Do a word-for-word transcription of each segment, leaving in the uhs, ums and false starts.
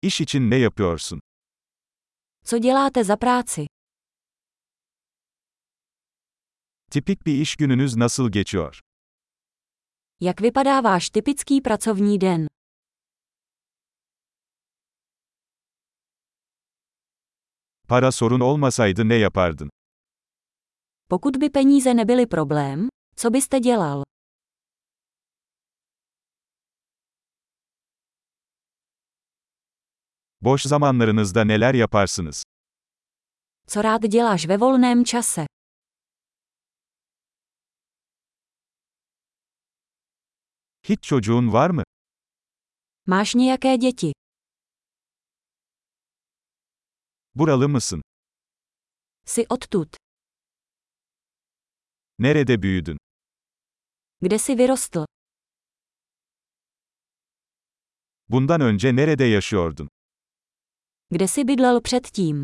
İş için ne yapıyorsun? Co děláte za práci? Tipik bir iş gününüz nasıl geçiyor? Jak vypadá váš typický pracovní den? Para sorun olmasaydı ne yapardın? Pokud by peníze nebyly problém, co byste dělal? Boş zamanlarınızda neler yaparsınız? Co rád děláš ve volném čase? Hiç çocuğun var mı? Máš nějaké děti? Buralı mısın? Jsi odtud? Nerede büyüdün? Kde jsi vyrostl? Bundan önce nerede yaşıyordun? Kde jsi bydlel předtím?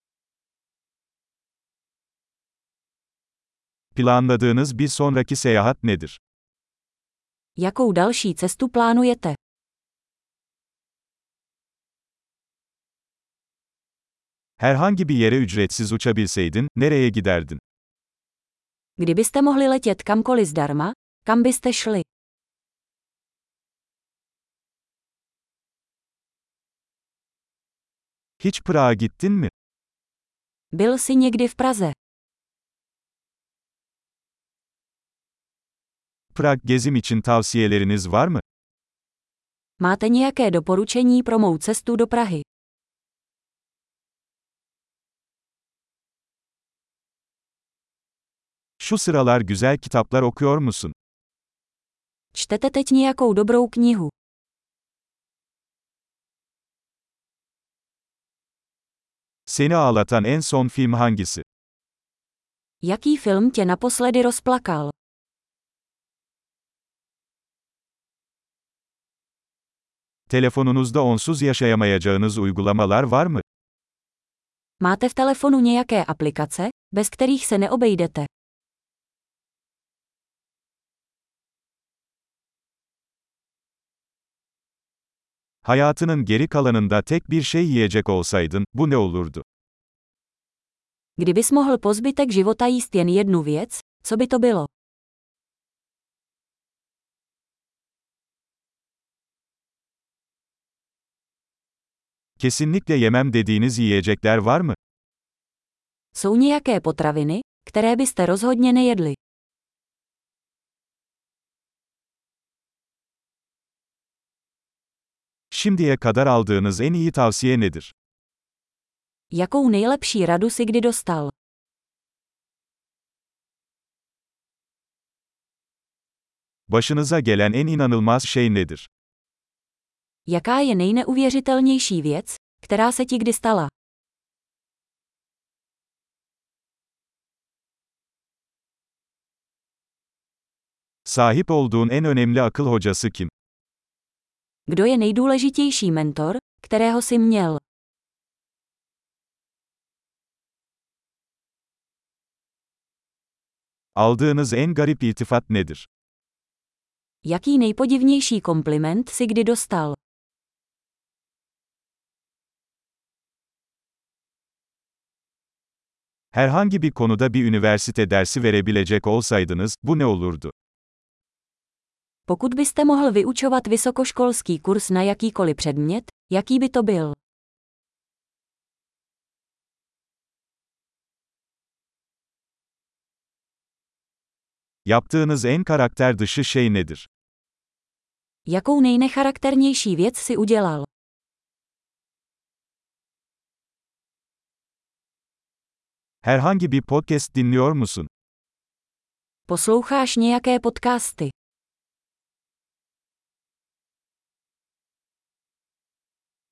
Planladığınız bir sonraki seyahat nedir? Jakou další cestu plánujete? Herhangi bir yere ücretsiz uçabilseydin, nereye giderdin? Kdybyste mohli letět kamkoliv zdarma, kam byste šli? Hiç Prag'a gittin mi? Byl jsi někdy v Praze? Prag gezim için tavsiyeleriniz var mı? Máte nějaké doporučení pro mou cestu do Prahy? Şu sıralar güzel kitaplar okuyor musun? Čtete teď nějakou dobrou knihu? Seni ağlatan en son film hangisi? Jaký film tě naposledy rozplakal? Telefonunuzda onsuz yaşayamayacağınız uygulamalar var mı? Máte v telefonu nějaké aplikace, bez kterých se neobejdete? Hayatının geri kalanında tek bir şey yiyecek olsaydın, bu ne olurdu? Kdybys mohl po zbytek života jíst jen jednu věc, co by to bylo? Kesinlikle yemem dediğiniz yiyecekler var mı? Jsou nějaké potraviny, které byste rozhodně nejedli? Şimdiye kadar aldığınız en iyi tavsiye nedir? Jakou nejlepší radu si kdy dostal? Başınıza gelen en inanılmaz şey nedir? Jaká je nejneuvěřitelnější věc, která se ti kdy stala? Sahip olduğun en önemli akıl hocası kim? Kdo je nejdůležitější mentor, kterého jsi měl? Aldığınız en garip iltifat nedir? Jaký nejpodivnější kompliment si kdy dostal? Herhangi bir konuda bir üniversite dersi verebilecek olsaydınız, bu ne olurdu? Pokud byste mohl vyučovat vysokoškolský kurz na jakýkoliv předmět, jaký by to byl? Yaptığınız en karakter dışı şey nedir? Jakou nejnecharakternější věc si udělal? Herhangi bir podcast dinliyor musun? Posloucháš nějaké podcasty?